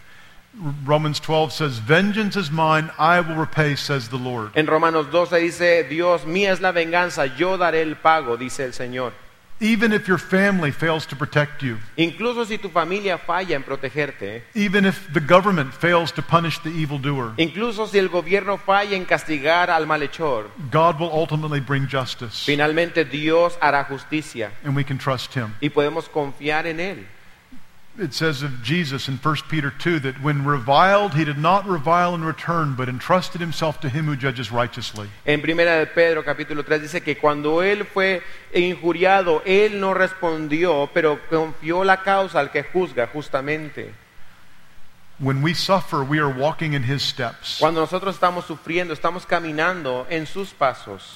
Romans 12 says, vengeance is mine, I will repay, says the Lord. En Romanos 12 dice, Dios, mía es la venganza, yo daré el pago, dice el Señor. Even if your family fails to protect you, Incluso si tu familia falla en protegerte, even if the government fails to punish the evildoer, incluso si el gobierno falla en castigar al malhechor, God will ultimately bring justice, finalmente Dios hará justicia and we can trust Him. y podemos confiar en Él. it says of Jesus in 1 Peter 2 that when reviled, he did not revile in return, but entrusted himself to him who judges righteously. En Primera de Pedro capítulo 3 dice que cuando él fue injuriado, él no respondió, pero confió la causa al que juzga justamente. When we suffer, we are walking in his steps. Cuando nosotros estamos sufriendo, estamos caminando en sus pasos.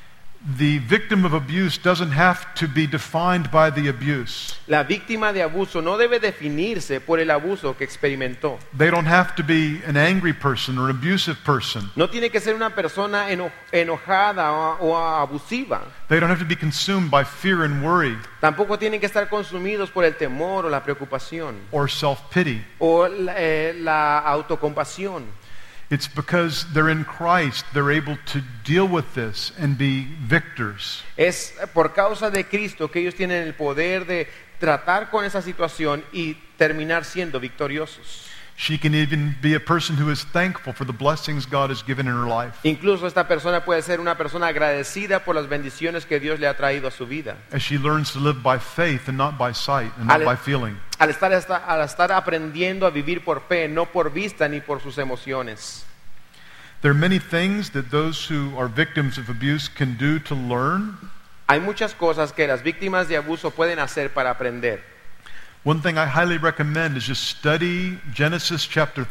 The victim of abuse doesn't have to be defined by the abuse. La víctima de abuso no debe definirse por el abuso que experimentó. They don't have to be an angry person or an abusive person. No tiene que ser una persona enojada o abusiva. They don't have to be consumed by fear and worry Tampoco tienen que estar consumidos por el temor o la preocupación or self-pity. o la autocompasión. It's because they're in Christ, they're able to deal with this and be victors. Es por causa de Cristo que ellos tienen el poder de tratar con esa situación y terminar siendo victoriosos. She can even be a person who is thankful for the blessings God has given in her life. Incluso esta persona puede ser una persona agradecida por las bendiciones que Dios le ha traído a su vida. As she learns to live by faith and not by sight and not by feeling. Al estar aprendiendo a vivir por fe, no por vista ni por sus emociones. There are many things that those who are victims of abuse can do to learn. Hay muchas cosas que las víctimas de abuso pueden hacer para aprender. One thing I highly recommend is just study Genesis chapter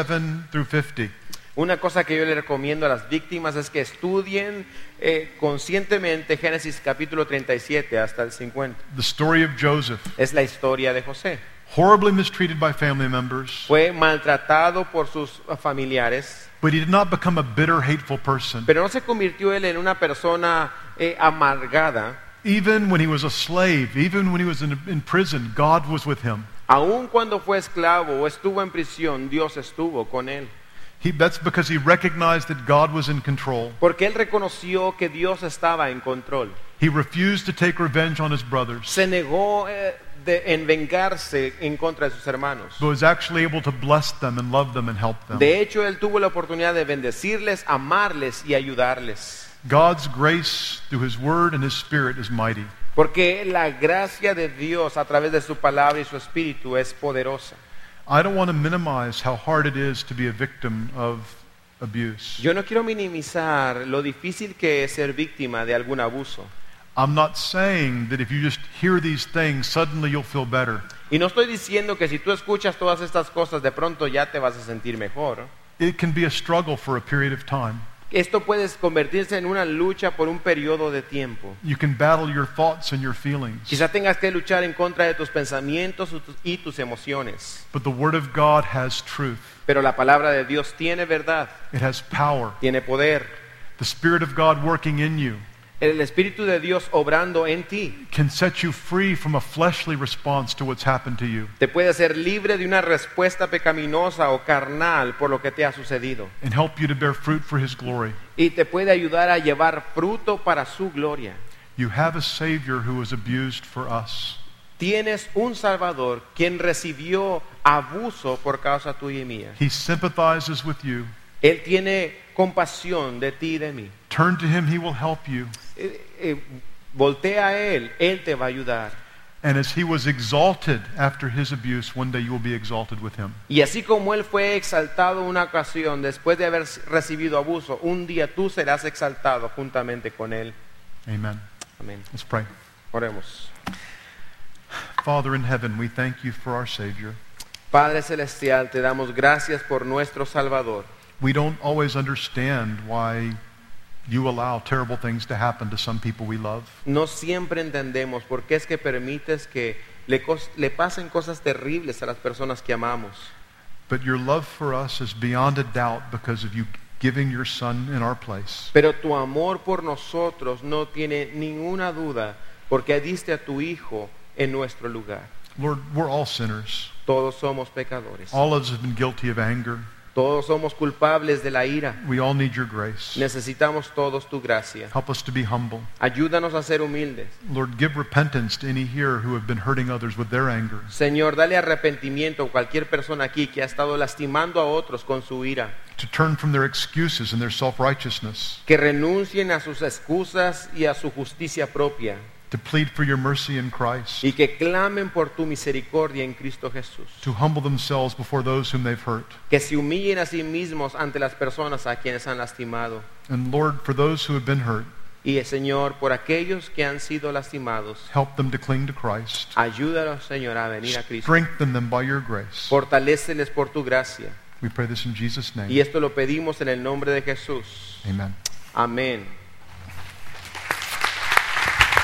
37 through 50. Una cosa que yo le recomiendo a las víctimas es que estudien conscientemente Génesis capítulo 37 hasta el 50. The story of Joseph, Es la historia de José. horribly mistreated by family members, Fue maltratado por sus familiares, but he did not become a bitter, hateful person. pero no se convirtió él en una persona amargada. Even when he was a slave, even when he was in prison, God was with him. Aun cuando fue esclavo o estuvo en prisión, Dios estuvo con él. That's because he recognized that God was in control. Porque él reconoció que Dios estaba en control. He refused to take revenge on his brothers, Se negó en vengarse en contra de sus hermanos. but was actually able to bless them and love them and help them. De hecho, él tuvo la oportunidad de bendecirles, amarles y ayudarles. God's grace through his word and his spirit is mighty. Porque la gracia de Dios a través de su palabra y su espíritu es poderosa. I don't want to minimize how hard it is to be a victim of abuse. Yo no quiero minimizar lo difícil que es ser víctima de algún abuso. I'm not saying that if you just hear these things, suddenly you'll feel better. Y no estoy diciendo que si tú escuchas todas estas cosas, de pronto ya te vas a sentir mejor. It can be a struggle for a period of time. Esto puede convertirse en una lucha por un periodo de tiempo. You can battle your thoughts and your feelings. Quizá tengas que luchar en contra de tus pensamientos y tus emociones. But the word of God has truth. Pero la palabra de Dios tiene verdad, It has power. tiene poder. The Spirit of God working in you El Espíritu de Dios obrando en ti can set you free from a fleshly response to what's happened to you te puede hacer libre de una respuesta pecaminosa o carnal por lo que te ha sucedido. and help you to bear fruit for his glory. Y te puede ayudar a llevar fruto para su gloria. You have a Savior who was abused for us. Tienes un Salvador quien recibió abuso por causa tuya y mía. He sympathizes with you. Él tiene compasión de ti y de mí. Turn to him, he will help you. Voltea a Él te va a ayudar. And as he was exalted after his abuse, one day you will be exalted with him. Y así como Él fue exaltado una ocasión después de haber recibido abuso, un día tú serás exaltado juntamente con Él. Amen. Amén. Let's pray. Oremos. Father in heaven, we thank you for our Savior. Padre Celestial, te damos gracias por nuestro Salvador. We don't always understand why you allow terrible things to happen to some people we love. No siempre entendemos por qué es que permites que le pasen cosas terribles a las personas que amamos. But your love for us is beyond a doubt because of you giving your Son in our place. Pero tu amor por nosotros no tiene ninguna duda porque diste a tu Hijo en nuestro lugar. Lord, we're all sinners. Todos somos pecadores. All of us have been guilty of anger. Todos somos culpables de la ira. We all need your grace. Necesitamos todos tu gracia. Help us to be humble. Ayúdanos a ser humildes. Lord, give repentance to any here who have been hurting others with their anger. Señor, dale arrepentimiento a cualquier persona aquí que ha estado lastimando a otros con su ira. To turn from their excuses and their self-righteousness Que renuncien a sus excusas y a su justicia propia. to plead for your mercy in Christ, y que clamen por tu misericordia en Cristo Jesús. to humble themselves before those whom they've hurt. Que se humillen a sí mismos ante las personas a quienes han lastimado. And Lord, for those who have been hurt, Y Señor, por aquellos que han sido lastimados, help them to cling to Christ. ayúdalos, Señor, a venir a Cristo. Strengthen them by your grace. Fortaléceles por tu gracia. We pray this in Jesus' Y name. esto lo pedimos en el nombre de Jesús. Amen. Amén.